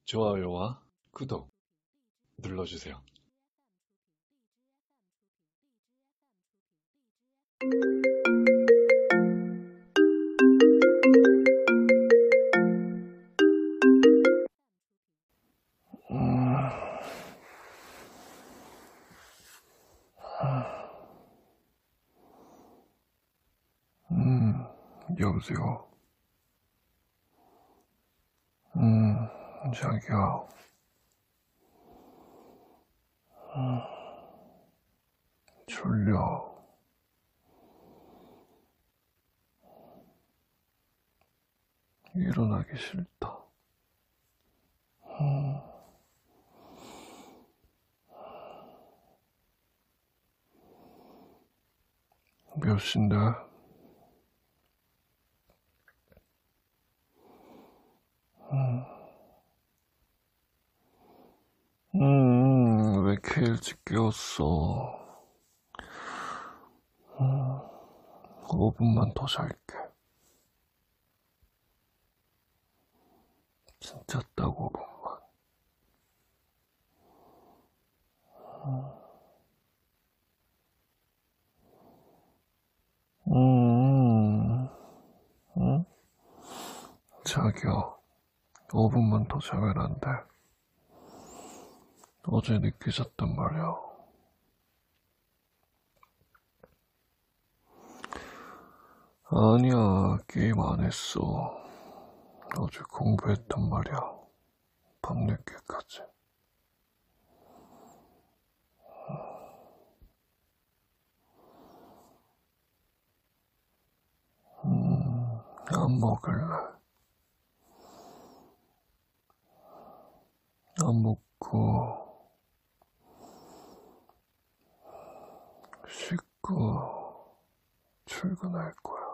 좋아요와 구독 눌러주세요. 여보세요. 자기야. 졸려. 일어나기 싫다. 몇 시인데? 왜 이렇게 일찍 깨웠어? 5분만 더 잘게. 진짜 딱 5분만. 응? 자기야, 5분만 더 자면 안 돼. 어제 늦게 잤단 말이야. 아니야, 게임 안 했어. 어제 공부했단 말이야. 밤늦게까지. 안 먹을래. 안 먹고, 씻고, 출근할 거야.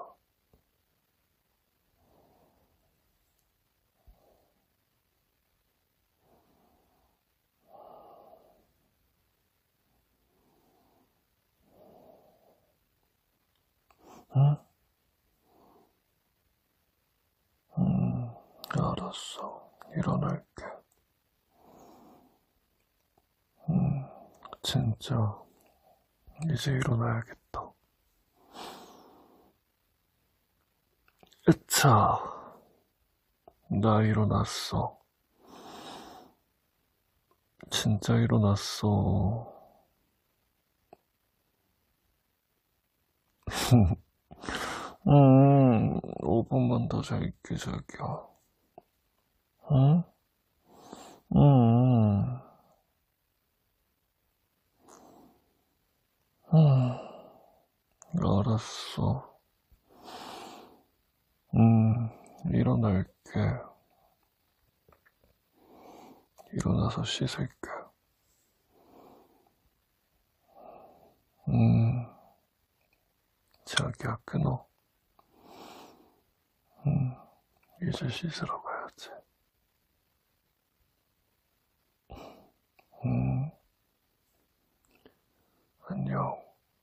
응? 알았어. 일어날게. 진짜, 이제 일어나야겠다. 으차, 나 일어났어. 진짜 일어났어. 5분만 더 잘게, 자기야. 응? 음, 알았어. 일어날게. 일어나서 씻을게. 자기야, 끊어. 이제 씻으러 가야지. 안녕.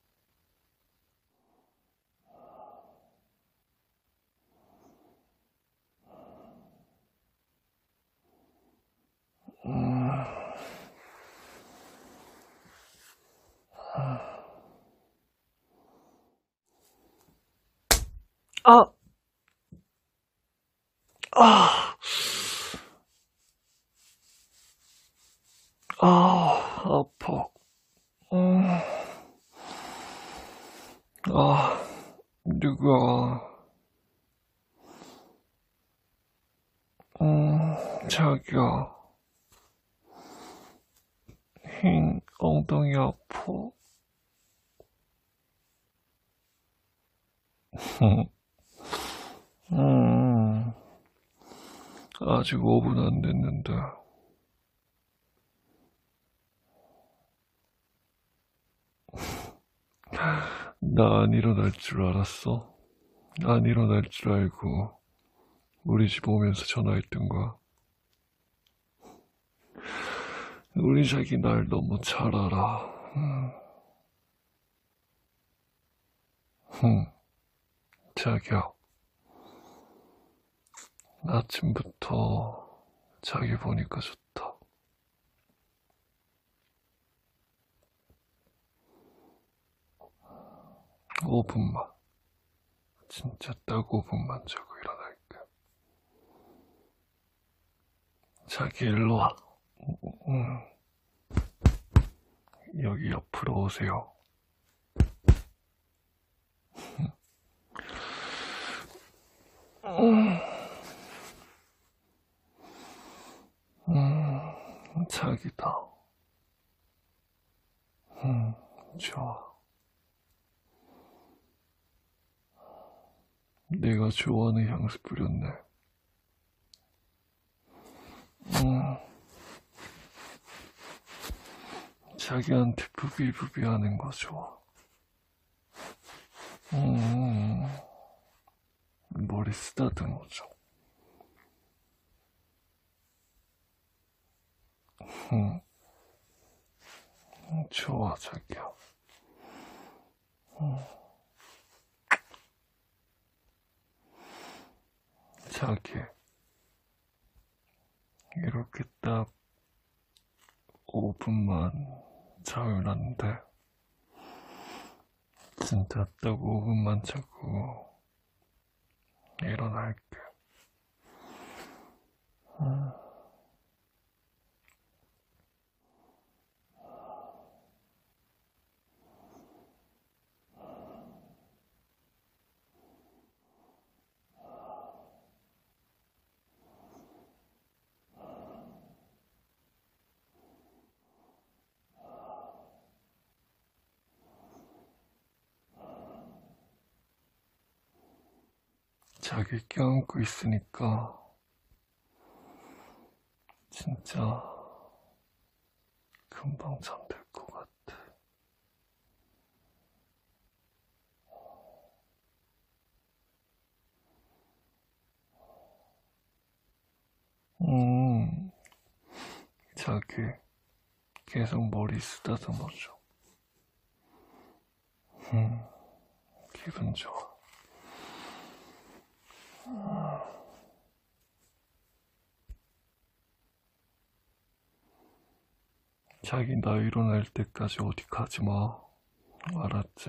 아! 아! 아파. 누가, 자기야, 흰 엉덩이 아파. 음, 아직 5분 안 됐는데. 나 안 일어날 줄 알았어? 안 일어날 줄 알고 우리 집 오면서 전화했던 거야. 우리 자기 날 너무 잘 알아. 자기야, 아침부터 자기 보니까 좋다. 5분만. 진짜 딱 5분만 자고 일어날게. 자기 일로 와. 여기 옆으로 오세요. 자기다. 좋아. 내가 좋아하는 향수 뿌렸네. 자기한테 부비부비 하는 거 좋아. 머리 쓰다듬어줘. 좋아, 자기야. 자기, 이렇게 딱 5분만 자면 안 돼. 진짜 딱 5분만 자고 일어날게. 자기 껴안고 있으니까 진짜 금방 잠들 것 같아. 자기 계속 머리 쓰다듬어줘. 기분 좋아. 자기 나 일어날 때까지 어디 가지 마. 알았지?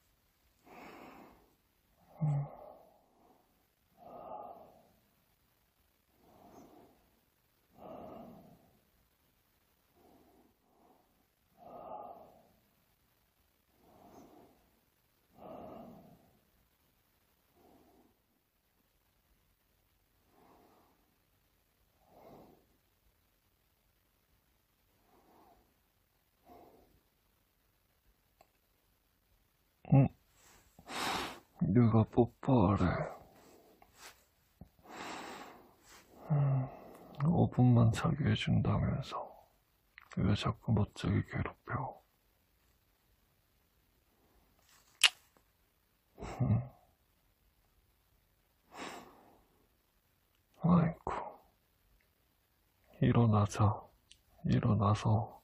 누가 뽀뽀하래. 5분만 자게 해준다면서 왜 자꾸 못 자게 괴롭혀? 아이고, 일어나자. 일어나서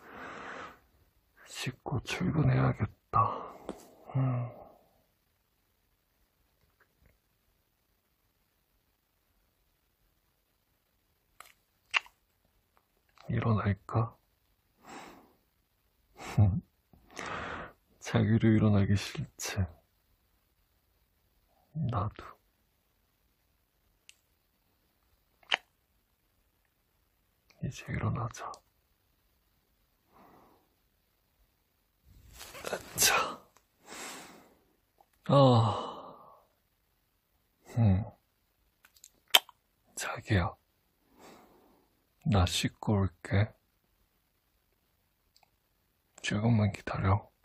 씻고 출근해야겠다. 일어날까? 자기로 일어나기 싫지. 나도. 이제 일어나자. 자. 자기야. 나 씻고 올게. 조금만 기다려.